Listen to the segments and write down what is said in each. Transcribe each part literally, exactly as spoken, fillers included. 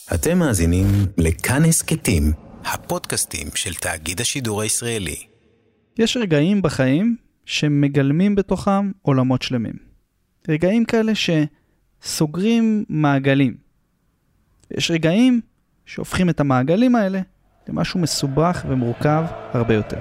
אתם מאזינים לכאן הסקטים, הפודקאסטים של תאגיד השידור הישראלי. יש רגעים בחיים שמגלמים בתוכם עולמות שלמים. רגעים כאלה שסוגרים מעגלים. יש רגעים שהופכים את המעגלים האלה למשהו מסובך ומורכב הרבה יותר.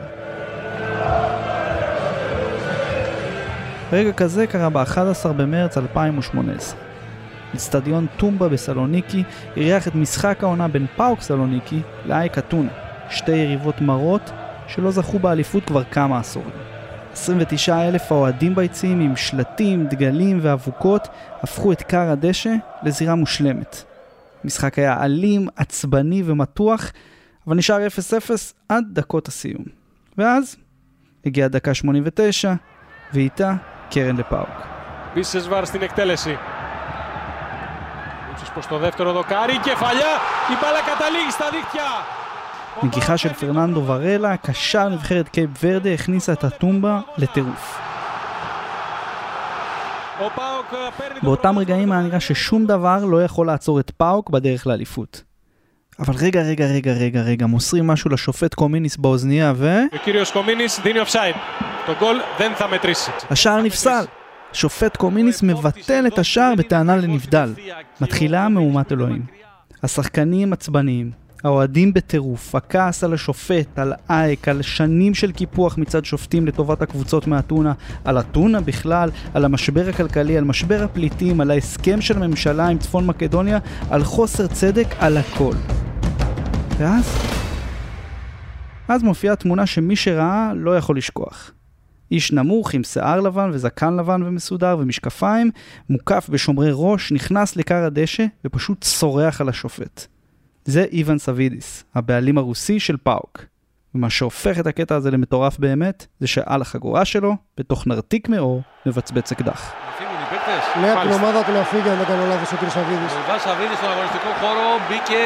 רגע כזה קרה ב-אחד עשר במרץ אלפיים ושמונה עשרה. אצטדיון טומבה בסלוניקי אירח את משחק העונה בין פאוק סלוניקי לאייק אתונה, שתי יריבות מרות שלא זכו באליפות כבר כמה עשורים. עשרים ותשעה אלף האוהדים ביציעים עם שלטים, דגלים ואבוקות הפכו את קר הדשא לזירה מושלמת. המשחק היה אלים, עצבני ומתוח, אבל נשאר אפס אפס עד דקות הסיום. ואז הגיעה דקה שמונים ותשע, ואיתה קרן לפאוק. Πίσες βάρ στην εκτέλεση. Ούτσος προς το δεύτερο δοκάρι, κεφαλιά, η μπάλα καταλήγει στα δίχτυα. נגיחה של פרננדו ורלה, קשר נבחרת קייפ ורדה, הכניסה את הטומבה לטירוף. באותם רגעים היה נראה ששום דבר לא יכול לעצור את פאוק בדרך לאליפות. אבל רגע, רגע, רגע, רגע, רגע, מוסרים משהו לשופט קומיניס באוזניה ו... וקיריוס קומיניס, דיני אופסייד. Το גול δεν θα μετρήσει. השער נפסל. שופט קומיניס מבטל את השער בטענה לנבדל. מתחילה מהומת אלוהים. השחקנים עצבניים, האוהדים בטירוף, הכעס על השופט, על אייק, על שנים של קיפוח מצד שופטים לטובת הקבוצות מהטונה, על הטונה בכלל, על המשבר הכלכלי, על משבר הפליטים, על ההסכם של הממשלה עם צפון מקדוניה, על חוסר צדק, על הכל. ואז? אז מופיעה תמונה שמי שראה לא יכול לשכוח. איש נמוך עם שיער לבן וזקן לבן ומסודר ומשקפיים, מוקף בשומרי ראש, נכנס לקר הדשא ופשוט צורח על השופט. זה איוון סבידיס, הבעלים הרוסי של פאוק. ומה שהופך את הקטע הזה למטורף באמת, זה שעל החגורה שלו, בתוך נרתיק מאור, מבצבץ אקדח. Ναι, από την ομάδα του να φύγει αν δεν κάνω λάθος ο κ. Σαβίδης. Ο Ιβάν Σαβίδης στον αγωνιστικό χώρο μπήκε.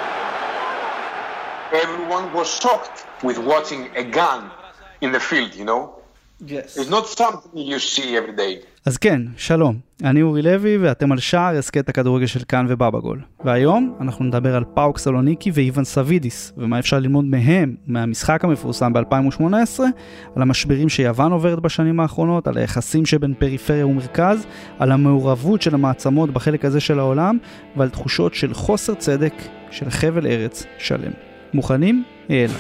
Everyone was shocked with watching a gun in the field, you know? Yes. It's not something you see every day. אז כן, שלום. אני אורי לוי ואתם על שער הסקט הכדורגל של כאן ובאבא גול. והיום אנחנו נדבר על פאוק סלוניקי ואיוון סבידיס, ומה אפשר ללמוד מהם, מהמשחק המפורסם ב-אלפיים ושמונה עשרה, על המשברים שיוון עוברת בשנים האחרונות, על היחסים שבין פריפריה ומרכז, על המעורבות של המעצמות בחלק הזה של העולם, ועל תחושות של חוסר צדק של חבל ארץ שלם. מוכנים? יאללה.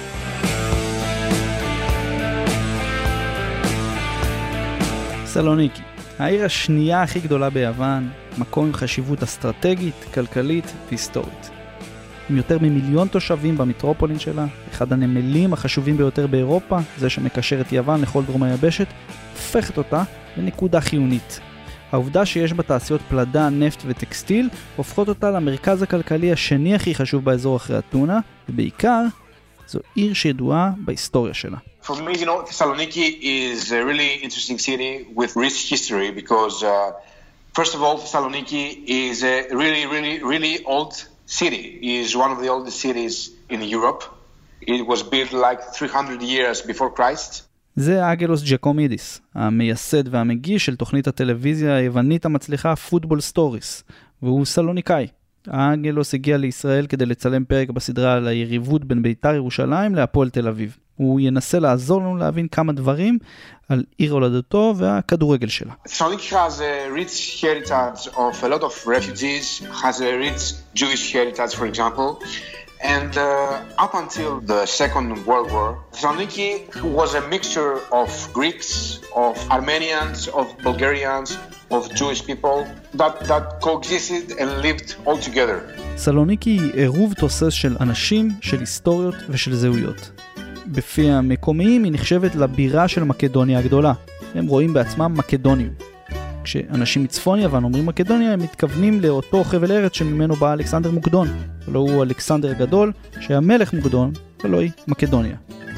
סלוניקי, העיר השנייה הכי גדולה ביוון, מקום עם חשיבות אסטרטגית, כלכלית והיסטורית. עם יותר ממיליון תושבים במטרופולין שלה, אחד הנמלים החשובים ביותר באירופה, זה שמקשר את יוון לכל דרום היבשת, הופכת אותה לנקודה חיונית. העובדה שיש בה תעשיות פלדה, נפט וטקסטיל, הופכות אותה למרכז הכלכלי השני הכי חשוב באזור אחרי אתונה, ובעיקר, זו עיר שידועה בהיסטוריה שלה. For me, you know, Thessaloniki is a really interesting city with rich history because, uh, first of all, Thessaloniki is a really, really, really old city. It is one of the oldest cities in Europe. It was built like three hundred years before Christ. זה אגלוס ג'קומידיס, המייסד והמגיש של תוכנית הטלוויזיה היוונית המצליחה פוטבול סטוריס, והוא סלוניקאי. אגלוס הגיע לישראל כדי לצלם פרק בסדרה על היריבות בין בית"ר ירושלים להפועל תל אביב. הוא ינסה לעזור לנו להבין כמה דברים על עיר הולדתו והכדורגל שלה. Thessaloniki has a rich heritage of a lot of refugees, has a rich Jewish heritage, for example. And uh, up until the Second World War, Thessaloniki was a mixture of Greeks, of Armenians, of Bulgarians, of Jewish people that, that coexisted and lived all together. סלוניקי היא עירוב תוסס של אנשים, של היסטוריות ושל זהויות. בפי המקומיים היא נחשבת לבירה של מקדוניה הגדולה. הם רואים בעצמם מקדונים. כשאנשים מצפון יוון אומרים מקדוניה, הם מתכוונים לאותו חבל ארץ שממנו בא אלכסנדר מוקדון. ולא הוא אלכסנדר הגדול, שהיה מלך מוקדון, ולא היא מקדוניה.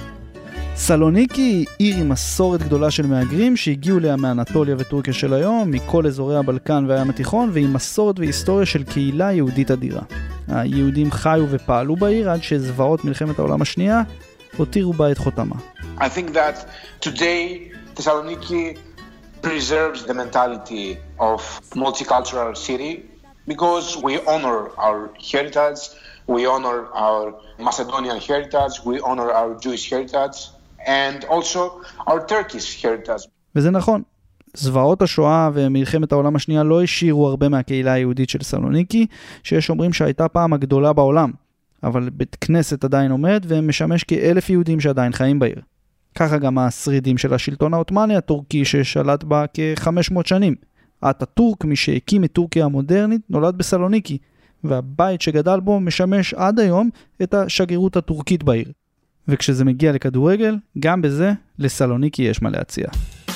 סלוניקי היא עיר עם מסורת גדולה של מהגרים שהגיעו לה מאנטוליה וטורקיה של היום, מכל אזורי הבלקן והים התיכון, ועם מסורת והיסטוריה של קהילה יהודית אדירה. היהודים חיו ופעלו בעיר עד שזוועות מלחמת העולם השנייה הותירו בה את חותמה. I think that today Thessaloniki preserves the mentality of multicultural city because we honor our heritage, we honor our Macedonian heritage, we honor our Jewish heritage, and also our Turkish heritage. וזה נכון. זוועות השואה ומלחמת העולם השנייה לא השאירו הרבה מהקהילה היהודית של סלוניקי, שיש אומרים שהייתה פעם הגדולה בעולם, אבל בית כנסת עדיין עומד ומשמש כאלף יהודים שעדיין חיים בעיר. ככה גם השרידים של השלטון העות'מאני הטורקי ששלט בה כ-חמש מאות שנים. אטאטורק, מי שהקים את טורקיה המודרנית, נולד בסלוניקי, והבית שגדל בו משמש עד היום את השגרירות הטורקית בעיר. וכשזה מגיע לכדורגל, גם בזה לסלוניקי יש מה להציע.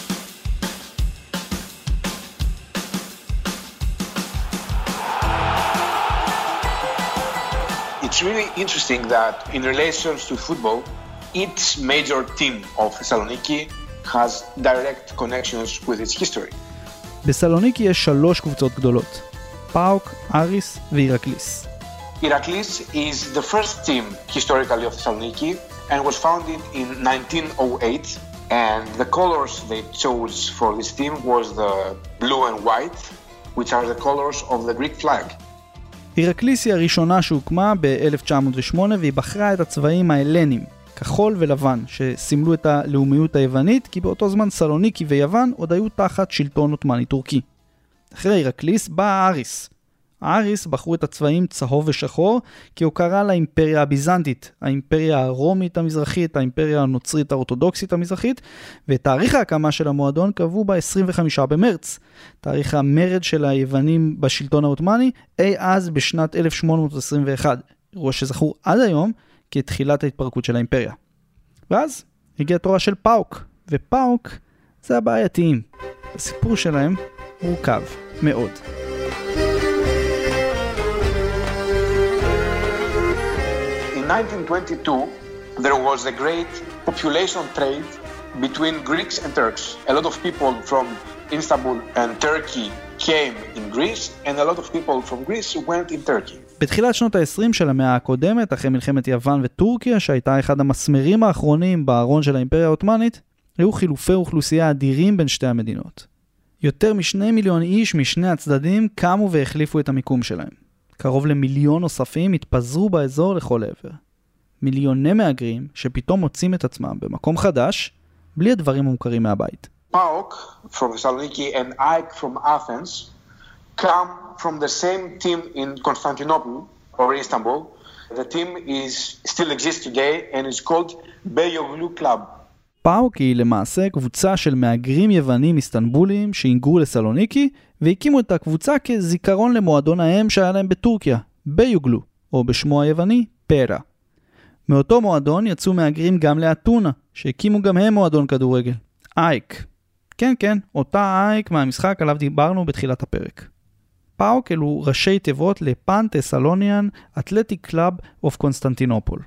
It's really interesting that in relation to football, each major team of Thessaloniki has direct connections with its history. בסלוניקי יש שלוש קבוצות גדולות, פאוק, אריס ואירקליס. Iraklis is the first team historically of Thessaloniki and was founded in nineteen oh eight, and the colors they chose for this team was the blue and white, which are the colors of the Greek flag. אירקליס היא הראשונה שהוקמה ב-אלף תשע מאות ושמונה והיא בחרה את הצבעים ההלנים, כחול ולבן, שסימלו את הלאומיות היוונית, כי באותו זמן סלוניקי ויוון עוד היו תחת שלטון עות'מאני טורקי. אחרי אירקליס בא אריס. האריס בחרו את הצבעים צהוב ושחור, כי הוא קרא לאימפריה הביזנטית, האימפריה הרומית המזרחית, האימפריה הנוצרית האורתודוקסית המזרחית, ותאריך ההקמה של המועדון קבעו ב-עשרים וחמישה במרץ. תאריך המרד של היוונים בשלטון העות'מאני, אי אז בשנת אלף שמונה מאות עשרים ואחת, אירוע שזכור עד היום כתחילת ההתפרקות של האימפריה. ואז הגיע תורה של פאוק, ופאוק זה הבעייתיים. הסיפור שלהם מורכב מאוד. In nineteen twenty-two, there was a great population trade between Greeks and Turks. A lot of people from Istanbul and Turkey came in Greece, and a lot of people from Greece went in Turkey. בתחילת שנות ה-עשרים של המאה הקודמת, אחרי מלחמת יוון וטורקיה, שהייתה אחד המסמרים האחרונים בארון של האימפריה העות'מאנית, היו חילופי אוכלוסייה אדירים בין שתי המדינות. יותר משני מיליון איש משני הצדדים קמו והחליפו את המיקום שלהם. קרוב למיליון נוספים התפזרו באזור לכל עבר. מיליוני מהגרים שפתאום מוצאים את עצמם במקום חדש, בלי הדברים המוכרים מהבית. PAOK from Thessaloniki and AEK from Athens come from the same team in Constantinople or Istanbul. The team is still exists today and is called Beyoğlu Club. פאוק היא למעשה קבוצה של מהגרים יוונים איסטנבולים שהיגרו לסלוניקי והקימו את הקבוצה כזיכרון למועדון האם שהיה להם בטורקיה, ביוגלו, או בשמו היווני, פרה. מאותו מועדון יצאו מהגרים גם לאתונה, שהקימו גם הם מועדון כדורגל, אייק. כן, כן, אותה אייק מהמשחק עליו דיברנו בתחילת הפרק. פאוק אלו ראשי תיבות לפן תסלוניאן אתלטיק קלאב אוף קונסטנטינופול.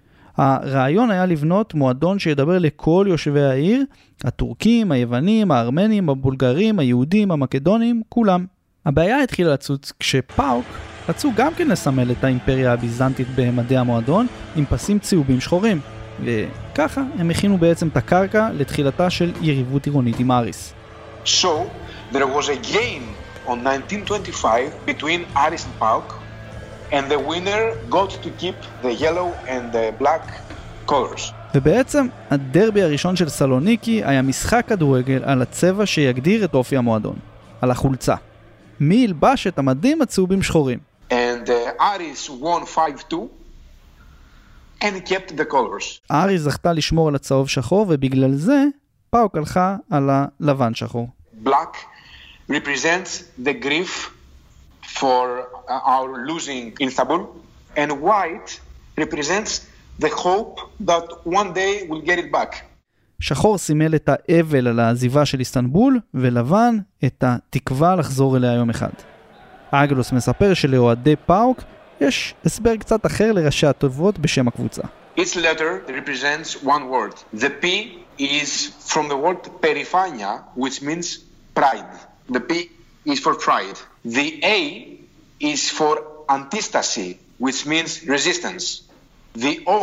הרעיון היה לבנות מועדון שידבר לכל יושבי העיר, הטורקים, היוונים, הארמנים, הבולגרים, היהודים, המקדונים, כולם. הבעיה התחילה לצוץ כשפאוק רצו גם כן לסמל את האימפריה הביזנטית במדי המועדון עם פסים צהובים שחורים, וככה הם הכינו בעצם את הקרקע לתחילתה של יריבות עירונית עם אריס. So, there was a game on nineteen twenty-five between Aris and PAOK, and the winner got to keep the yellow and the black colors. ובעצם הדרבי הראשון של סלוניקי היה משחק כדורגל על הצבע שיגדיר את אופי המועדון, על החולצה. מי ילבש את המדים הצהובים שחורים? And uh, Aris won five two and kept the colors. אריס זכתה לשמור על הצהוב שחור ובגלל זה פאוק הלכה על הלבן שחור. Black represents the grief for our losing Istanbul, and white represents the hope that one day we'll get it back. שחור סימל את האבל על העזיבה של איסטנבול, ולבן את התקווה לחזור אליה יום אחד. אגלוס מספר שלאוהדי פאוק יש הסבר קצת אחר לראשי התיבות בשם הקבוצה. Each letter represents one word. The P is from the word perifania, which means pride. The P is for pride. The A is for antistasy, which means resistance. The O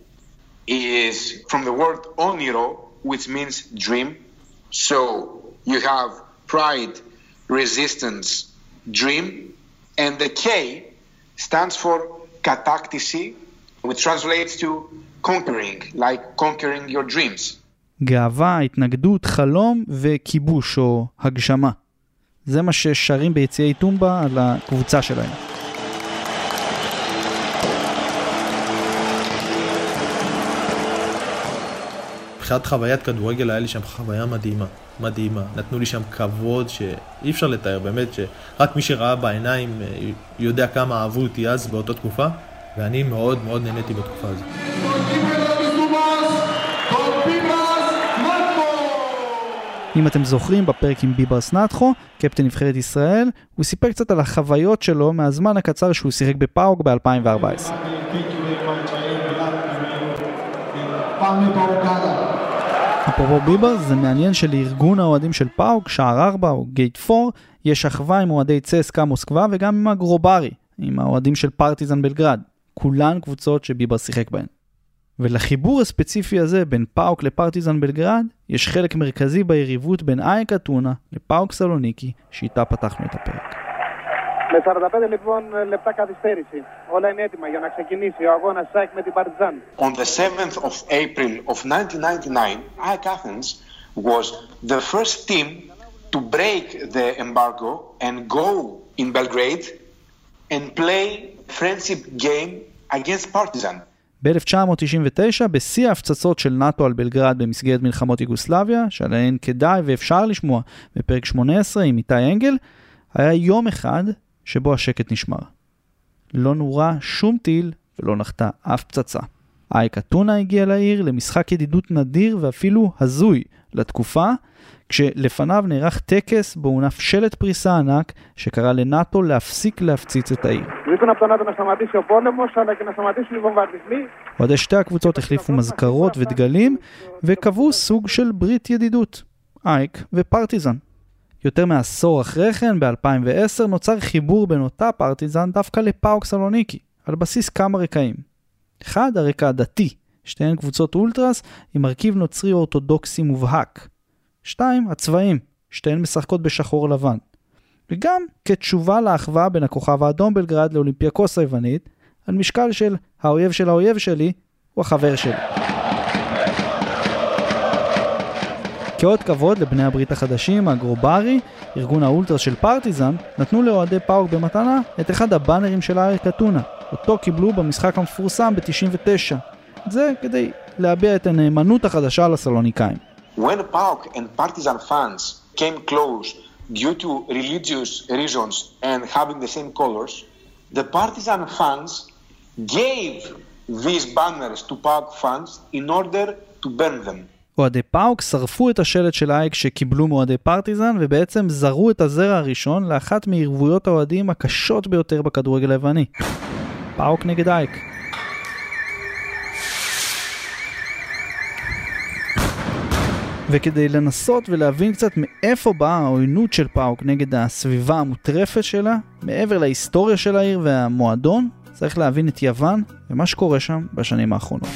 is from the word oniro, which means dream. So you have pride, resistance, dream, And the K stands for kataktisi, which translates to conquering, like conquering your dreams. גאווה, התנגדות, חלום וכיבוש או הגשמה. זה מה ששרים ביציעי טומבה על הקבוצה שלהם. מבחינת חוויית כדורגל היה לי שם חוויה מדהימה, מדהימה. נתנו לי שם כבוד שאי אפשר לתאר, באמת שרק מי שראה בעיניים יודע כמה אהבו אותי אז באותה תקופה, ואני מאוד מאוד נהניתי בתקופה הזאת. אם אתם זוכרים, בפרק עם ביברס נתחו, קפטן נבחרת ישראל, הוא סיפר קצת על החוויות שלו מהזמן הקצר שהוא שיחק בפאוק ב-אלפיים וארבע עשרה. אפרופו ביברס, זה מעניין שלארגון האוהדים של פאוק, שער ארבע או גייט פור, יש אחווה עם אוהדי צסקה מוסקבה וגם עם הגרוברי, עם האוהדים של פרטיזן בלגרד. כולן קבוצות שביברס שיחק בהן. ולחיבור הספציפי הזה בין פאוק לפרטיזן בלגרד, יש חלק מרכזי ביריבות בין אייק אתונה לפאוק סלוניקי, שאיתה פתחנו את הפרק. Με σαράντα πέντε λοιπόν λεπτά καθυστέρηση. Όλα είναι έτοιμα για να ξεκινήσει ο αγώνας ΑΕΚ με την Παρτιζάν. On the seventh of April of nineteen ninety-nine, AEK Athens was the first team to break the embargo and go in Belgrade and play friendship game against Partizan. ב-אלף תשע מאות תשעים ותשע, בשיא ההפצצות של נאטו על בלגרד במסגרת מלחמות יוגוסלביה, שעליהן כדאי ואפשר לשמוע בפרק שמונה עשרה עם איתי אנגל, היה יום אחד שבו השקט נשמר. לא נורה שום טיל ולא נחתה אף פצצה. אייק אתונה הגיע לעיר למשחק ידידות נדיר ואפילו הזוי לתקופה, כשלפניו נערך טקס בו הונף שלט פריסה ענק שקרא לנאטו להפסיק להפציץ את העיר. עוד שתי הקבוצות החליפו מזכרות ודגלים וקבעו סוג של ברית ידידות, אייק ופרטיזן. יותר מעשור אחרי כן, ב-אלפיים ועשר, נוצר חיבור בין אותה פרטיזן דווקא לפאוק סלוניקי, על בסיס כמה רקעים. אחד, הרקע הדתי, שתיהן קבוצות אולטרס עם מרכיב נוצרי אורתודוקסי מובהק. שתיים, הצבעים, שתיהן משחקות בשחור לבן. וגם כתשובה לאחווה בין הכוכב האדום בלגרד לאולימפיאקוס היוונית, על משקל של האויב של האויב שלי הוא החבר שלי. כאות כבוד לבני הברית החדשים, הגרוברי, ארגון האולטרס של פרטיזן, נתנו לאוהדי פאוק במתנה את אחד הבאנרים של אייק אתונה, אותו קיבלו במשחק המפורסם ב-תשעים ותשע. זה כדי להביע את הנאמנות החדשה לסלוניקאים. When PAOK and Partizan fans came close due to religious reasons and having the same colors, the Partizan fans gave these banners to PAOK fans in order to burn them. אוהדי פאוק שרפו את השלט של אייק שקיבלו מאוהדי פרטיזן ובעצם זרו את הזרע הראשון לאחת מערבויות האוהדים הקשות ביותר בכדורגל היווני. פאוק נגד אייק. וכדי לנסות ולהבין קצת מאיפה באה העוינות של פאוק נגד הסביבה המוטרפת שלה, מעבר להיסטוריה של העיר והמועדון, צריך להבין את יוון ומה שקורה שם בשנים האחרונות.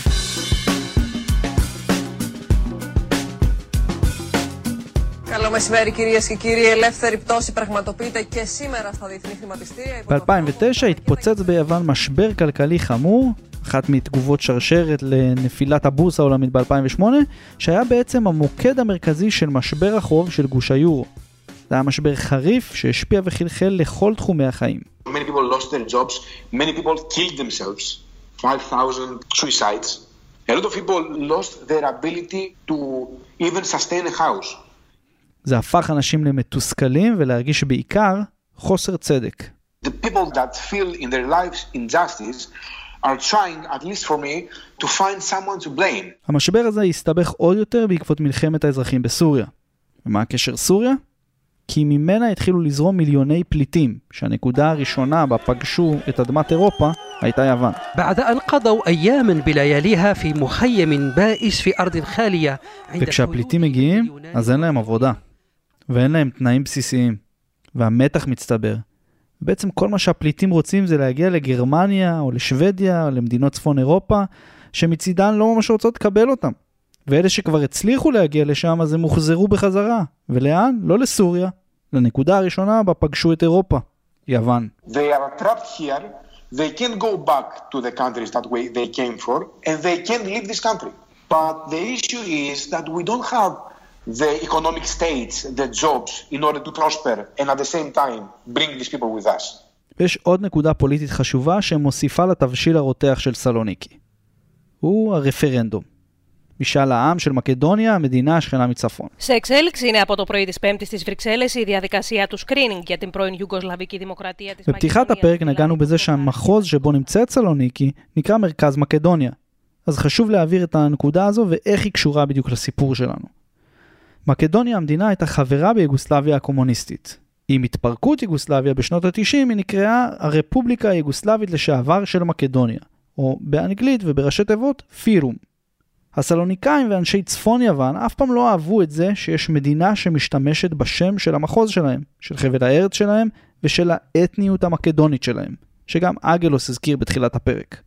Καλό μεσημέρι κυρίες και κύριοι, ελεύθερη πτώση πραγματοποιείται και σήμερα στα διεθνή χρηματιστήρια. ב-אלפיים ותשע התפוצץ ביוון משבר כלכלי חמור, אחת מתגובות שרשרת לנפילת הבורסה העולמית ב-אלפיים ושמונה, שהיה בעצם המוקד המרכזי של משבר החוב של גוש היורו. זה היה משבר חריף שהשפיע וחלחל לכל תחומי החיים. Many people lost their jobs, many people killed themselves, five thousand suicides. A lot of people lost their ability to even sustain a house. זה הפך אנשים למתוסכלים ולהרגיש בעיקר חוסר צדק. The people that feel in their lives injustice are trying, at least for me, to find someone to blame. המשבר הזה הסתבך עוד יותר בעקבות מלחמת האזרחים בסוריה. ומה הקשר סוריה? כי ממנה התחילו לזרום מיליוני פליטים, שהנקודה הראשונה בה פגשו את אדמת אירופה הייתה יוון. بعد أن قضوا أياما بلياليها في مخيم بائس في أرض خالية. וכשהפליטים מגיעים, אז אין להם עבודה. ואין להם תנאים בסיסיים. והמתח מצטבר. בעצם כל מה שהפליטים רוצים זה להגיע לגרמניה או לשוודיה או למדינות צפון אירופה, שמצידן לא ממש רוצות לקבל אותם. ואלה שכבר הצליחו להגיע לשם, אז הם מוחזרו בחזרה. ולאן? לא לסוריה. לנקודה הראשונה בה פגשו את אירופה. יוון. They are trapped here, they can't go back to the countries that way they came for, and they can't leave this country. But the issue is that we don't have the economic states, the jobs, in order to prosper, and at the same time bring these people with us. ויש עוד נקודה פוליטית חשובה שמוסיפה לתבשיל הרותח של סלוניקי. הוא הרפרנדום. משאל העם של מקדוניה, המדינה השכנה מצפון. Σε εξέλιξη είναι από το πρωί της Πέμπτης στις Βρυξέλλες η διαδικασία του screening για την πρώην Ιουγκοσλαβική Δημοκρατία της Μακεδονίας. בפתיחת הפרק נגענו בזה שהמחוז שבו נמצאת סלוניקי נקרא מרכז מקדוניה. אז חשוב להעביר את הנקודה הזו ואיך היא קשורה בדיוק לסיפור שלנו. מקדוניה המדינה הייתה חברה ביוגוסלביה הקומוניסטית. עם התפרקות יוגוסלביה בשנות ה-תשעים היא נקראה הרפובליקה היוגוסלבית לשעבר של מקדוניה, או באנגלית ובראשי תיבות פירום. הסלוניקאים ואנשי צפון יוון אף פעם לא אהבו את זה שיש מדינה שמשתמשת בשם של המחוז שלהם, של חבל הארץ שלהם ושל האתניות המקדונית שלהם, שגם אגלוס הזכיר בתחילת הפרק.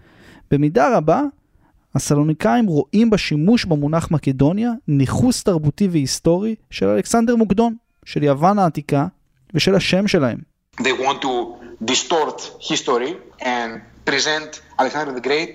במידה רבה, הסלוניקאים רואים בשימוש במונח מקדוניה ניחוס תרבותי והיסטורי של אלכסנדר מוקדון, של יוון העתיקה ושל השם שלהם. They want to distort history and present Alexander the Great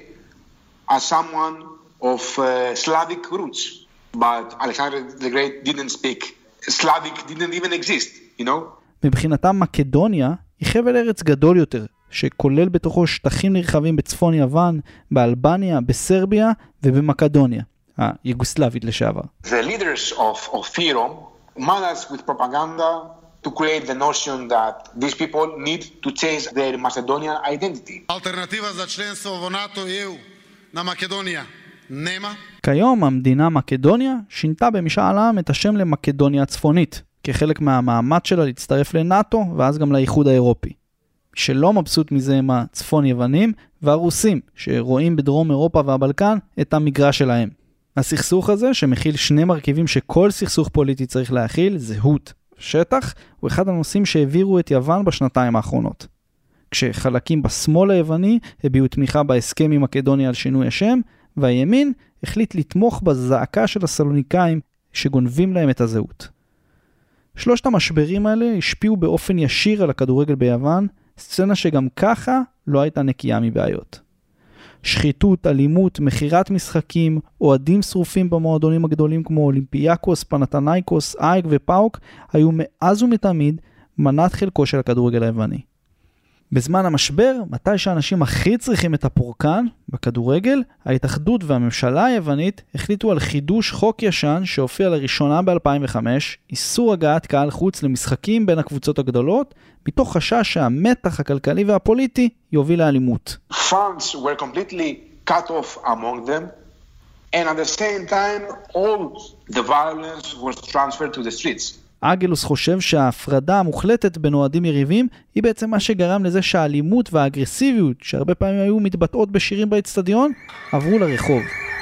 as someone of uh, Slavic roots. But Alexander the Great didn't speak. Slavic didn't even exist, you know? מבחינתם מקדוניה היא חבל ארץ גדול יותר, שכולל בתוכו שטחים נרחבים בצפון יוון, באלבניה, בסרביה ובמקדוניה, היוגוסלבית לשעבר. The leaders of, of Fyrom managed with propaganda to create the notion that these people need to change their Macedonian identity. Alternativa za členstvo v NATO i E U na Makedonija nema. כיום המדינה מקדוניה שינתה במשאל העם את השם למקדוניה הצפונית, כחלק מהמאמץ שלה להצטרף לנאטו ואז גם לאיחוד האירופי. שלא מבסוט מזה הם הצפון יוונים והרוסים, שרואים בדרום אירופה והבלקן את המגרש שלהם. הסכסוך הזה, שמכיל שני מרכיבים שכל סכסוך פוליטי צריך להכיל, זהות ושטח, הוא אחד הנושאים שהעבירו את יוון בשנתיים האחרונות. כשחלקים בשמאל היווני הביעו תמיכה בהסכם עם מקדוניה על שינוי השם, והימין החליט לתמוך בזעקה של הסלוניקאים שגונבים להם את הזהות. שלושת המשברים האלה השפיעו באופן ישיר על הכדורגל ביוון, סצנה שגם ככה לא הייתה נקייה מבעיות. שחיתות, אלימות, מחירת משחקים, אוהדים שרופים במועדונים הגדולים כמו אולימפיאקוס, פנתנייקוס, אייק ופאוק, היו מאז ומתמיד מנת חלקו של הכדורגל היווני. בזמן המשבר, מתי שאנשים הכי צריכים את הפורקן בכדורגל, ההתאחדות והממשלה היוונית החליטו על חידוש חוק ישן שהופיע לראשונה ב-אלפיים וחמש, איסור הגעת קהל חוץ למשחקים בין הקבוצות הגדולות, מתוך חשש שהמתח הכלכלי והפוליטי יוביל לאלימות. Funds were completely cut off among them, and at the same time all the violence was transferred to the streets. אגלוס חושב שההפרדה המוחלטת בין אוהדים יריבים היא בעצם מה שגרם לזה שהאלימות והאגרסיביות שהרבה פעמים היו מתבטאות בשירים באצטדיון עברו לרחוב.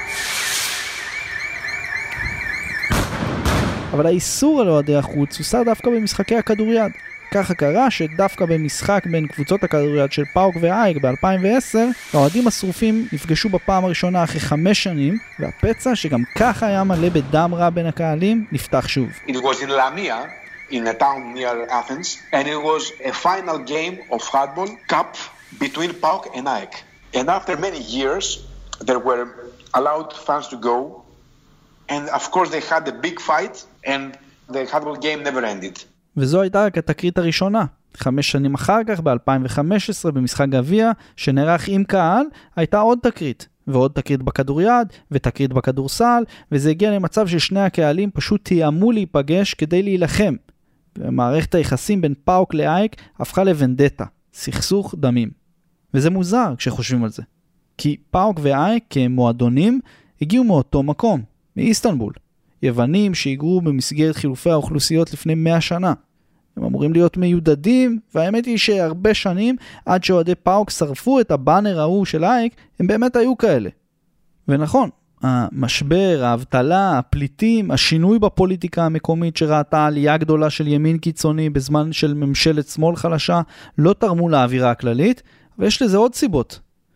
אבל האיסור על אוהדי החוץ הוסר דווקא במשחקי הכדוריד. ככה קרה שדווקא במשחק בין קבוצות הכדוריד של פאוק ואייק ב-אלפיים ועשר, האוהדים השרופים נפגשו בפעם הראשונה אחרי חמש שנים, והפצע שגם ככה היה מלא בדם רע בין הקהלים נפתח שוב. It was in Lamia, in a town near Athens, and it was a final game of handball cup between PAOK and AEK. And after many years, there were allowed fans to go, and of course they had a big fight, and the handball game never ended. וזו הייתה רק התקרית הראשונה. חמש שנים אחר כך, ב-אלפיים וחמש עשרה, במשחק גביע, שנערך עם קהל, הייתה עוד תקרית. ועוד תקרית בכדוריד, ותקרית בכדורסל, וזה הגיע למצב ששני הקהלים פשוט תיאמו להיפגש כדי להילחם. ומערכת היחסים בין פאוק לאייק הפכה לבנדטה, סכסוך דמים. וזה מוזר כשחושבים על זה. כי פאוק ואייק כמועדונים הגיעו מאותו מקום, מאיסטנבול. יוונים שהיגרו במסגרת חילופי האוכלוסיות לפני מאה שנה. הם אמורים להיות מיודדים, והאמת היא שהרבה שנים, עד שאוהדי פאוק שרפו את הבאנר ההוא של אייק, הם באמת היו כאלה. ונכון, המשבר, האבטלה, הפליטים, השינוי בפוליטיקה המקומית שראתה עלייה גדולה של ימין קיצוני בזמן של ממשלת שמאל חלשה, לא תרמו לאווירה הכללית, ויש לזה עוד סיבות.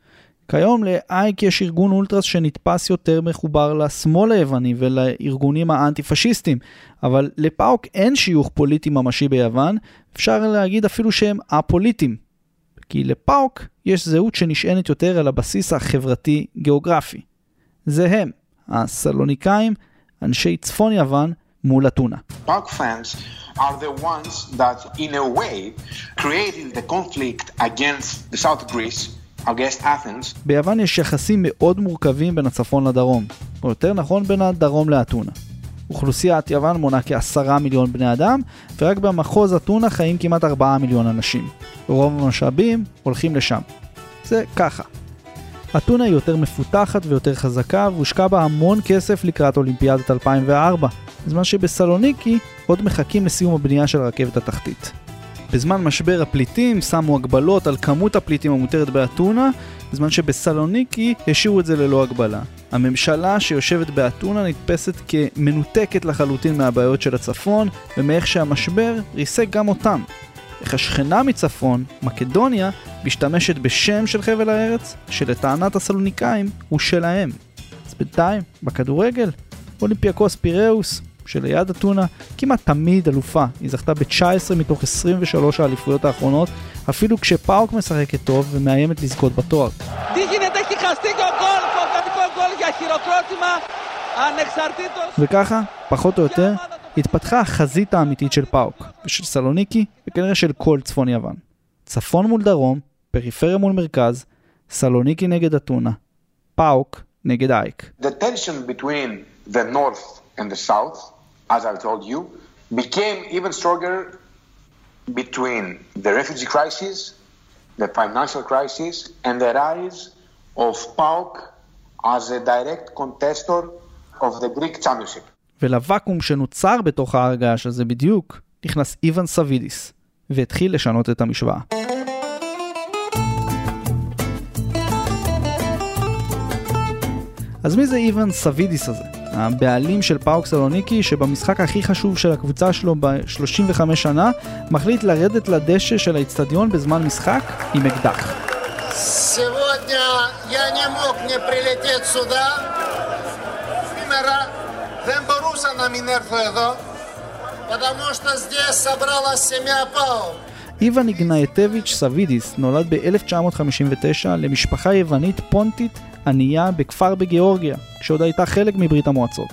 כיום לאייק יש ארגון אולטרס שנתפס יותר מחובר לשמאל היווני ולארגונים האנטי-פשיסטים, אבל לפאוק אין שיוך פוליטי ממשי ביוון, אפשר להגיד אפילו שהם א-פוליטיים. כי לפאוק יש זהות שנשענת יותר על הבסיס החברתי-גיאוגרפי. זה הם, הסלוניקאים, אנשי צפון יוון מול אתונה. PAOK fans are the ones that in a way created the conflict against the South Greece, against Athens. ביוון יש יחסים מאוד מורכבים בין הצפון לדרום, או יותר נכון בין הדרום לאתונה. אוכלוסיית יוון מונה כעשרה מיליון בני אדם, ורק במחוז אתונה חיים כמעט ארבעה מיליון אנשים. רוב המשאבים הולכים לשם. זה ככה. אתונה היא יותר מפותחת ויותר חזקה, והושקע בה המון כסף לקראת אולימפיאדת אלפיים וארבע, בזמן שבסלוניקי עוד מחכים לסיום הבנייה של הרכבת התחתית. בזמן משבר הפליטים שמו הגבלות על כמות הפליטים המותרת באתונה, בזמן שבסלוניקי השאירו את זה ללא הגבלה. הממשלה שיושבת באתונה נתפסת כמנותקת לחלוטין מהבעיות של הצפון, ומאיך שהמשבר ריסק גם אותם. איך השכנה מצפון, מקדוניה, משתמשת בשם של חבל הארץ, שלטענת הסלוניקאים הוא שלהם. אז בינתיים, בכדורגל, אולימפיאקוס פיראוס, שליד אתונה, כמעט תמיד אלופה. היא זכתה ב-תשע עשרה מתוך עשרים ושלוש האליפויות האחרונות, אפילו כשפאוק משחקת טוב ומאיימת לזכות בתואר. וככה, פחות או יותר, התפתחה החזית האמיתית של פאוק, ושל סלוניקי, וכנראה של כל צפון יוון. צפון מול דרום, פריפריה מול מרכז, סלוניקי נגד אתונה, פאוק נגד אייק. The tension between the north and the south, as I told you, became even stronger between the refugee crisis, the financial crisis, and the rise of PAOK as a direct contestor of the Greek championship. ולוואקום שנוצר בתוך ההרגש הזה בדיוק, נכנס איוון סבידיס, והתחיל לשנות את המשוואה. אז מי זה איוון סבידיס הזה? הבעלים של פאוק סלוניקי, שבמשחק הכי חשוב של הקבוצה שלו ב-שלושים וחמש שנה, מחליט לרדת לדשא של האצטדיון בזמן משחק עם אקדח. Сегодня я не мог не прилететь сюда. Σήμερα δεν μπορούσα να μην έρθω εδώ, потому что здесь собралась семья PAOK. איוון איגנייטביץ' סבידיס נולד ב-אלף תשע מאות חמישים ותשע למשפחה יוונית פונטית ענייה בכפר בגיאורגיה, כשעוד הייתה חלק מברית המועצות.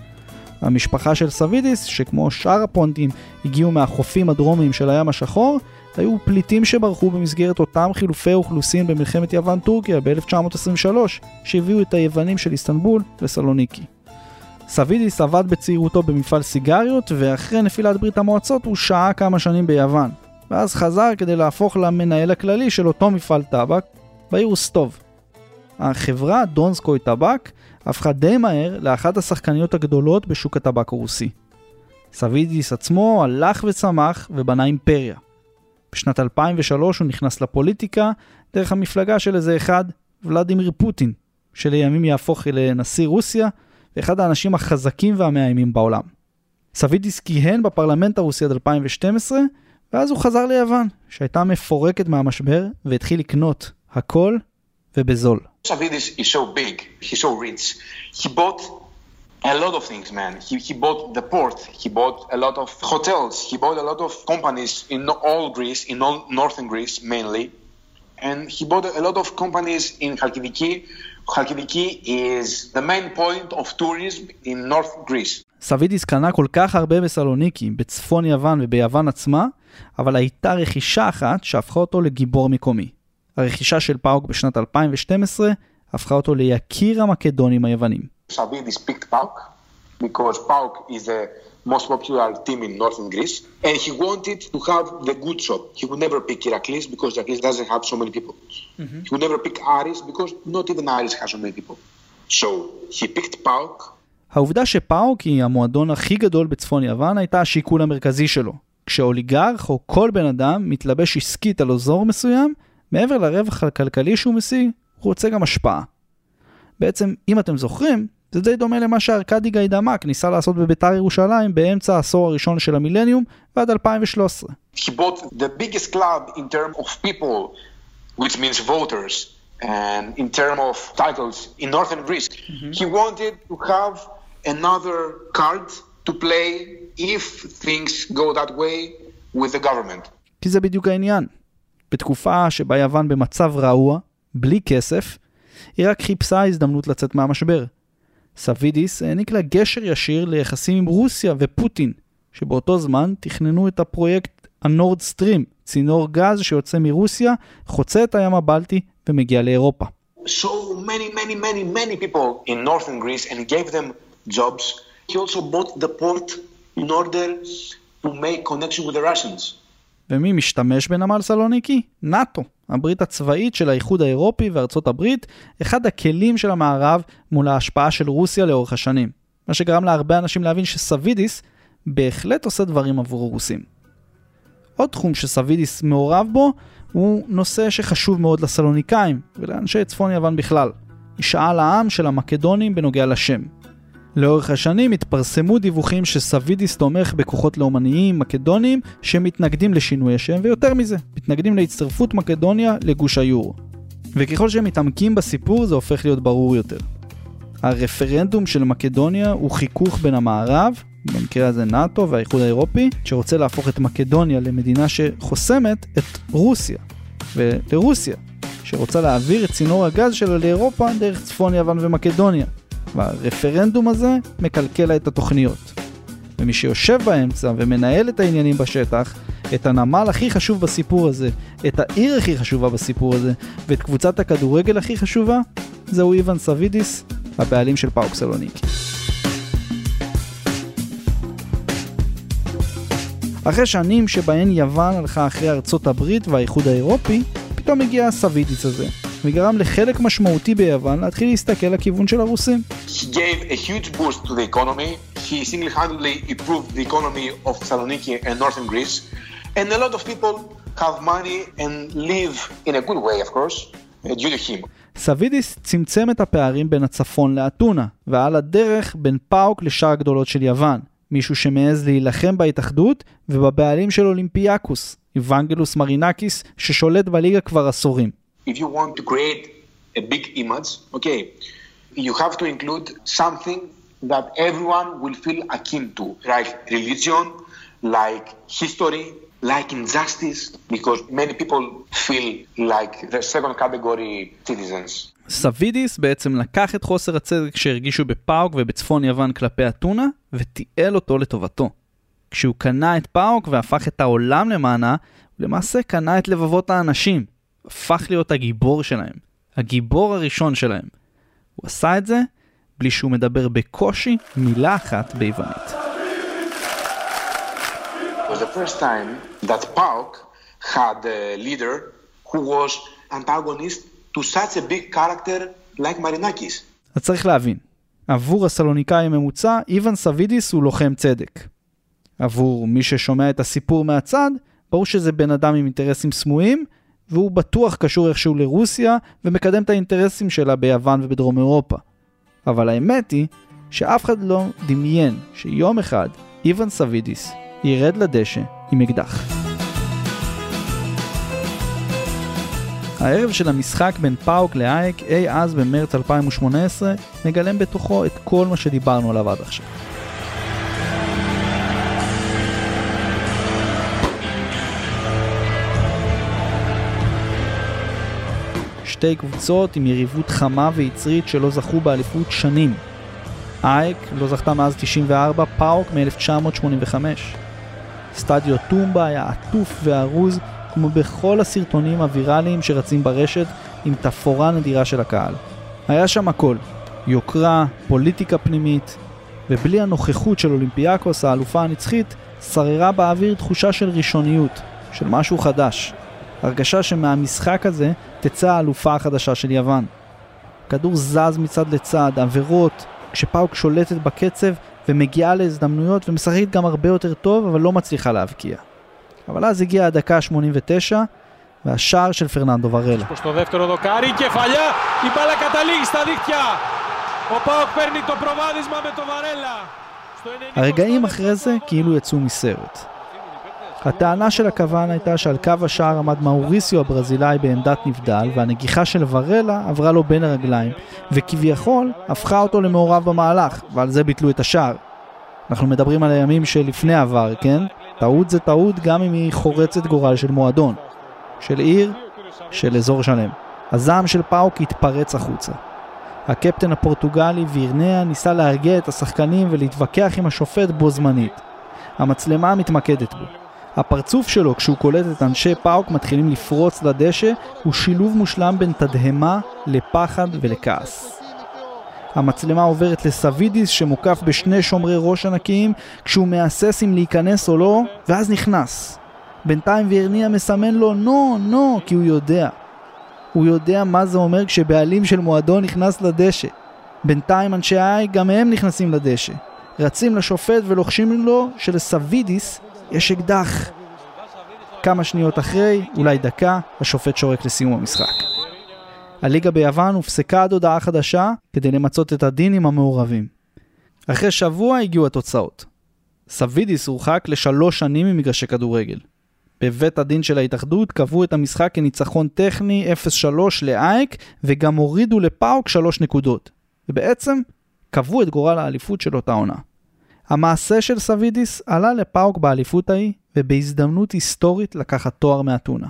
המשפחה של סבידיס, שכמו שאר הפונטים הגיעו מהחופים הדרומיים של הים השחור, היו פליטים שברחו במסגרת אותם חילופי אוכלוסין במלחמת יוון-טורקיה ב-אלף תשע מאות עשרים ושלוש, שהביאו את היוונים של איסטנבול לסלוניקי. סבידיס עבד בצעירותו במפעל סיגריות, ואחרי נפילת ברית המועצות הוא שהה כמה שנים ביוון. ואז חזר כדי להפוך למנהל הכללי של אותו מפעל טבק, בעיר רוסטוב. החברה דונסקוי טבק הפכה די מהר לאחת השחקניות הגדולות בשוק הטבק הרוסי. סבידיס עצמו הלך וצמח ובנה אימפריה. בשנת אלפיים ושלוש הוא נכנס לפוליטיקה דרך המפלגה של איזה אחד, ולדימיר פוטין, שלימים יהפוך לנשיא רוסיה, ואחד האנשים החזקים והמאיימים בעולם. סבידיס כיהן בפרלמנט הרוסי עד אלפיים ושתים עשרה, ואז הוא חזר ליוון, שהייתה מפורקת מהמשבר, והתחיל לקנות הכל ובזול. Savidis is so big, he's so rich. He bought a lot of things, man. He, he bought the port, he bought a lot of hotels, he bought a lot of companies in all Greece, in all northern Greece mainly. And he bought a lot of companies in Chalkidiki. Chalkidiki is the main point of tourism in North Greece. סבידיס קנה כל כך הרבה בסלוניקי, בצפון יוון וביוון עצמה, אבל הייתה רכישה אחת שהפכה אותו לגיבור מקומי. הרכישה של פאוק בשנת אלפיים ושתים עשרה הפכה אותו ליקיר המקדונים היוונים. Savidis picked PAOK because PAOK is the most popular team in northern Greece and he wanted to have the good shop. He would never pick Iraklis because Iraklis doesn't have so many people. Mm-hmm. He would never pick Aris because not even Aris has so many people. So he picked PAOK. העובדה שפאוק היא המועדון הכי גדול בצפון יוון הייתה השיקול המרכזי שלו. כשאוליגרך או כל בן אדם מתלבש עסקית על אזור מסוים, מעבר לרווח הכלכלי שהוא משיג, הוא רוצה גם השפעה. בעצם, אם אתם זוכרים, זה די דומה למה שארקדי גיידמק ניסה לעשות בביתר ירושלים באמצע העשור הראשון של המילניום ועד אלפיים ושלוש עשרה. He bought the biggest club in terms of people, which means voters, and in terms of titles in northern Greece. Mm-hmm. He wanted to have another card to play if things go that way with the government. כי זה בדיוק העניין. בתקופה שבה יוון במצב רעוע, בלי כסף, היא רק חיפשה הזדמנות לצאת מהמשבר. סבידיס העניק לה גשר ישיר ליחסים עם רוסיה ופוטין, שבאותו זמן תכננו את הפרויקט הנורד סטרים, צינור גז שיוצא מרוסיה, חוצה את הים הבלטי ומגיע לאירופה. So many, many, many, many people in northern Greece and gave them jobs. He also bought the port in order to make connection with the Russians. ומי משתמש בנמל סלוניקי? נאטו, הברית הצבאית של האיחוד האירופי וארצות הברית, אחד הכלים של המערב מול ההשפעה של רוסיה לאורך השנים. מה שגרם להרבה אנשים להבין שסבידיס בהחלט עושה דברים עבור הרוסים. עוד תחום שסבידיס מעורב בו הוא נושא שחשוב מאוד לסלוניקאים ולאנשי צפון יוון בכלל. משאל העם של המקדונים בנוגע לשם. לאורך השנים התפרסמו דיווחים שסבידיס תומך בכוחות לאומניים מקדונים שמתנגדים לשינוי השם, ויותר מזה, מתנגדים להצטרפות מקדוניה לגוש היורו. וככל שהם מתעמקים בסיפור זה הופך להיות ברור יותר. הרפרנדום של מקדוניה הוא חיכוך בין המערב, במקרה הזה נאטו והאיחוד האירופי, שרוצה להפוך את מקדוניה למדינה שחוסמת את רוסיה. ולרוסיה, שרוצה להעביר את צינור הגז שלה לאירופה דרך צפון יוון ומקדוניה. והרפרנדום הזה מקלקל לה את התוכניות. ומי שיושב באמצע ומנהל את העניינים בשטח, את הנמל הכי חשוב בסיפור הזה, את העיר הכי חשובה בסיפור הזה, ואת קבוצת הכדורגל הכי חשובה, זהו איוון סבידיס, הבעלים של פאוק סלוניקי. אחרי שנים שבהן יוון הלכה אחרי ארצות הברית והאיחוד האירופי, פתאום הגיע הסבידיס הזה. וגרם לחלק משמעותי ביוון להתחיל להסתכל לכיוון של הרוסים. He gave a huge boost to the economy. He single-handedly improved the economy of Thessaloniki and northern Greece. And a lot of people have money and live in a good way, of course, due to him. סבידיס צמצם את הפערים בין הצפון לאתונה, ועל הדרך בין פאוק לשאר הגדולות של יוון. מישהו שמעז להילחם בהתאחדות ובבעלים של אולימפיאקוס, איוונגלוס מרינקיס, ששולט בליגה כבר עשורים. If you want to create a big image, okay, you have to include something that everyone will feel akin to, like religion, like history, like injustice, because many people feel like the second category citizens. סבידיס בעצם לקח את חוסר הצדק שהרגישו בפאוק ובצפון יוון כלפי אתונה, ותיעל אותו לטובתו. כשהוא קנה את פאוק והפך את העולם למענה, הוא למעשה קנה את לבבות האנשים. הפך להיות הגיבור שלהם, הגיבור הראשון שלהם. הוא עשה את זה בלי שהוא מדבר בקושי מילה אחת ביוונית. It was the first time that PAOK had a leader who was antagonist to such a big character like Marinakis. אז צריך להבין, עבור הסלוניקאי הממוצע, איוון סבידיס הוא לוחם צדק. עבור מי ששומע את הסיפור מהצד, ברור שזה בן אדם עם אינטרסים סמויים, והוא בטוח קשור איכשהו לרוסיה ומקדם את האינטרסים שלה ביוון ובדרום אירופה. אבל האמת היא שאף אחד לא דמיין שיום אחד איוון סבידיס ירד לדשא עם אקדח. הערב של המשחק בין פאוק לאייק אי אז במרץ אלפיים ושמונה עשרה מגלם בתוכו את כל מה שדיברנו עליו עד עכשיו. שתי קבוצות עם יריבות חמה ויצרית שלא זכו באליפות שנים. אייק לא זכתה מאז תשעים וארבע, פאוק מ-אלף תשע מאות שמונים וחמש. סטדיו טומבה היה עטוף וערוז כמו בכל הסרטונים הוויראליים שרצים ברשת עם תפאורה נדירה של הקהל. היה שם הכל, יוקרה, פוליטיקה פנימית, ובלי הנוכחות של אולימפיאקוס, האלופה הנצחית, שררה באוויר תחושה של ראשוניות, של משהו חדש. הרגשה שמהמשחק הזה תצא האלופה החדשה של יוון. כדור זז מצד לצד, עבירות, כשפאוק שולטת בקצב ומגיעה להזדמנויות ומשחקת גם הרבה יותר טוב, אבל לא מצליחה להבקיע. אבל אז הגיעה הדקה ה-שמונים ותשע והשער של פרננדו ורלה. Στο δεύτερο δοκάρι, κεφαλιά, η μπάλα καταλήγει στα δίχτυα. Ο Πάοκ παίρνει το προβάδισμα με το Βαρέλα. הרגעים אחרי זה כאילו יצאו מסרט. הטענה של הכוון הייתה שעל קו השער עמד מאוריסיו הברזילאי בעמדת נבדל, והנגיחה של ורלה עברה לו בין הרגליים, וכביכול הפכה אותו למעורב במהלך, ועל זה ביטלו את השער. אנחנו מדברים על הימים שלפני עבר, כן? טעות זה טעות גם אם היא חורצת גורל של מועדון, של עיר, של אזור שלם. הזעם של פאוק התפרץ החוצה. הקפטן הפורטוגלי וירניה ניסה להרגיע את השחקנים ולהתווכח עם השופט בו זמנית. המצלמה מתמקדת בו. הפרצוף שלו כשהוא קולט את אנשי פאוק מתחילים לפרוץ לדשא הוא שילוב מושלם בין תדהמה לפחד ולכעס. המצלמה עוברת לסווידיס שמוקף בשני שומרי ראש ענקיים כשהוא מאסס אם להיכנס או לא, ואז נכנס. בינתיים וירניה מסמן לו נו, נו, כי הוא יודע. הוא יודע מה זה אומר כשבעלים של מועדון נכנס לדשא. בינתיים אנשי האי גם הם נכנסים לדשא. רצים לשופט ולוחשים לו שלסווידיס יש אקדח. כמה שניות אחרי, אולי דקה, השופט שורק לסיום המשחק. הליגה ביוון הופסקה עד הודעה חדשה כדי למצות את הדין עם המעורבים. אחרי שבוע הגיעו התוצאות. סווידיס הורחק לשלוש שנים ממגרשי כדורגל. בבית הדין של ההתאחדות קבעו את המשחק כניצחון טכני אפס שלוש לאייק וגם הורידו לפאוק שלוש נקודות. ובעצם קבעו את גורל האליפות של אותה עונה. המעשה של סווידיס עלה לפאוק באליפות ההיא ובהזדמנות היסטורית לקחת תואר מאתונה.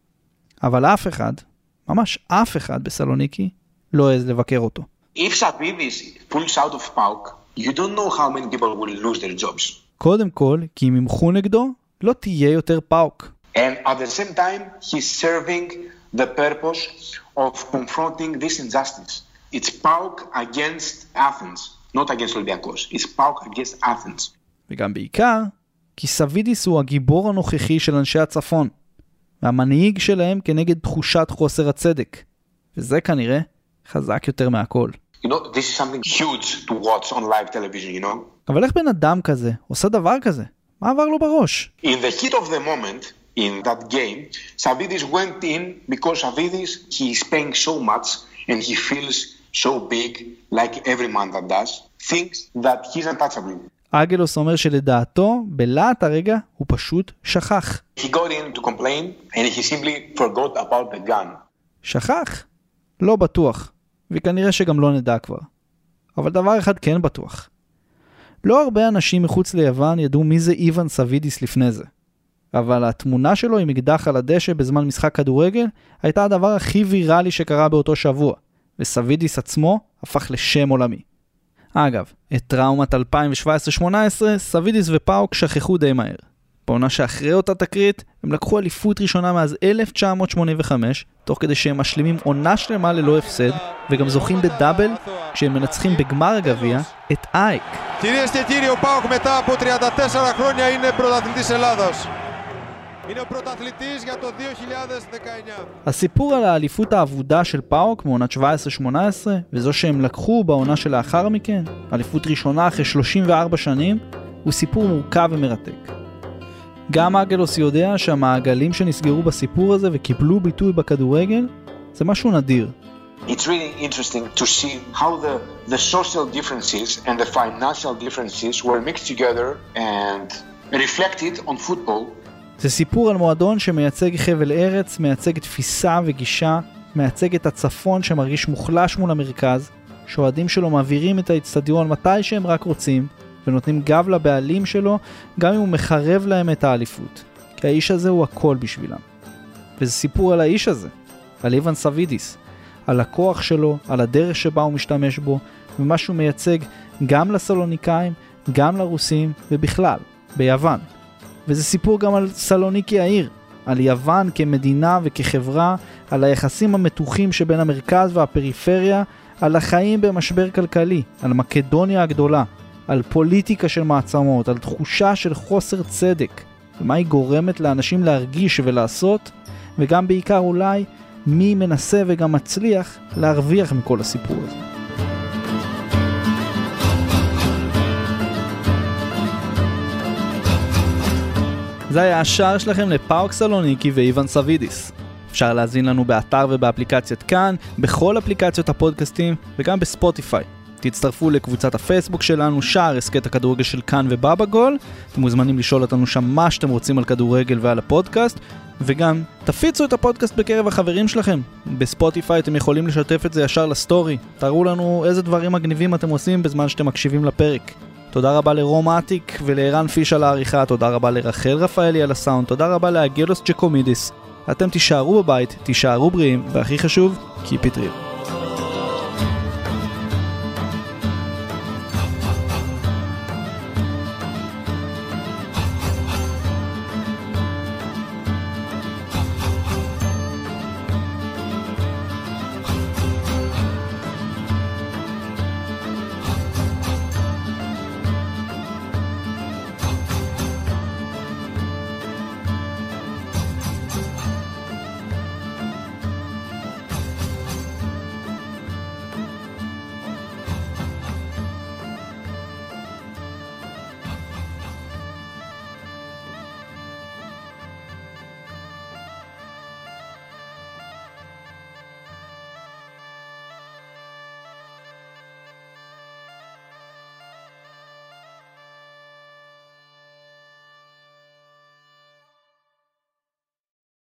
אבל אף אחד, ממש אף אחד בסלוניקי לא העז לבקר אותו. If Savvidis pulls out of PAOK, you don't know how many people will lose their jobs. קודם כל, כי אם ימחו נגדו, לא תהיה יותר פאוק. And at the same time, he's serving the purpose of confronting this injustice. It's PAOK against Athens, not against Olympiacos. It's PAOK against Athens. וגם בעיקר, כי סווידיס הוא הגיבור הנוכחי של אנשי הצפון, והמנהיג שלהם כנגד תחושת חוסר הצדק. וזה כנראה חזק יותר מהכל. You know, this is something huge to watch on live television, you know? אבל איך בן אדם כזה עושה דבר כזה? מה עבר לו בראש? In the heat of the moment, in that game, Savvidis went in because Savvidis, he is paying so much and he feels so big, like every man that does, thinks that he's untouchable. אגלוס אומר שלדעתו, בלעת הרגע, הוא פשוט שכח. He got in to complain and he simply forgot about the gun. שכח? לא בטוח, וכנראה שגם לא נדע כבר. אבל דבר אחד כן בטוח. לא הרבה אנשים מחוץ ליוון ידעו מי זה איוון סווידיס לפני זה. אבל התמונה שלו עם אקדח על הדשא בזמן משחק כדורגל הייתה הדבר הכי ויראלי שקרה באותו שבוע, וסווידיס עצמו הפך לשם עולמי. אגב, את טראומת אלפיים שבע עשרה שמונה עשרה סווידיס ופאוק שכחו די מהר. בעונה שאחרי אותה תקרית הם לקחו אליפות ראשונה מאז אלף תשע מאות שמונים וחמש, תוך כדי שהם משלימים עונה שלמה ללא הפסד, וגם זוכים בדאבל כשהם מנצחים בגמר הגביע את אייק. Κυρίες και κύριοι, ο ΠΑΟΚ μετά από τριάντα τέσσερα χρόνια είναι πρωταθλητής Ελλάδας. Είναι ο πρωταθλητής για το δύο χιλιάδες δεκαεννιά. הסיפור על האליפות העבודה של פאוק מעונת שבע עשרה שמונה עשרה, וזו שהם לקחו בעונה שלאחר מכן, אליפות ראשונה אחרי שלושים וארבע שנים, הוא סיפור מורכב ומרתק. גם אגלוס יודע שהמעגלים שנסגרו בסיפור הזה וקיבלו ביטוי בכדורגל, זה משהו נדיר. It's really interesting to see how the, the social differences and the financial differences were mixed together and reflected on football. זה סיפור על מועדון שמייצג חבל ארץ, מייצג תפיסה וגישה, מייצג את הצפון שמרגיש מוחלש מול המרכז, שאוהדים שלו מעבירים את האצטדיון מתי שהם רק רוצים, ונותנים גב לבעלים שלו, גם אם הוא מחרב להם את האליפות. כי האיש הזה הוא הכל בשבילם. וזה סיפור על האיש הזה, על איוון סווידיס, על הכוח שלו, על הדרך שבה הוא משתמש בו, ומה שהוא מייצג גם לסלוניקאים, גם לרוסים, ובכלל, ביוון. וזה סיפור גם על סלוניקי העיר, על יוון כמדינה וכחברה, על היחסים המתוחים שבין המרכז והפריפריה, על החיים במשבר כלכלי, על מקדוניה הגדולה, על פוליטיקה של מעצמות, על תחושה של חוסר צדק, ומה היא גורמת לאנשים להרגיש ולעשות, וגם בעיקר אולי מי מנסה וגם מצליח להרוויח מכל הסיפור הזה. זה היה השער שלכם לפאוק סלוניקי ואיוון סווידיס. אפשר להזין לנו באתר ובאפליקציית כאן, בכל אפליקציות הפודקאסטים וגם בספוטיפיי. תצטרפו לקבוצת הפייסבוק שלנו, שער הסקט הכדורגל של כאן ובבא גול. אתם מוזמנים לשאול אותנו שם מה שאתם רוצים על כדורגל ועל הפודקאסט, וגם תפיצו את הפודקאסט בקרב החברים שלכם. בספוטיפיי אתם יכולים לשתף את זה ישר לסטורי. תראו לנו איזה דברים מגניבים אתם עושים בזמן שאתם מקשיבים לפרק. תודה רבה לרום עתיק ולערן פיש על העריכה, תודה רבה לרחל רפאלי על הסאונד, תודה רבה לאגילוס ג'קומידיס. אתם תישארו בבית, תישארו בריאים, והכי חשוב, keep it real.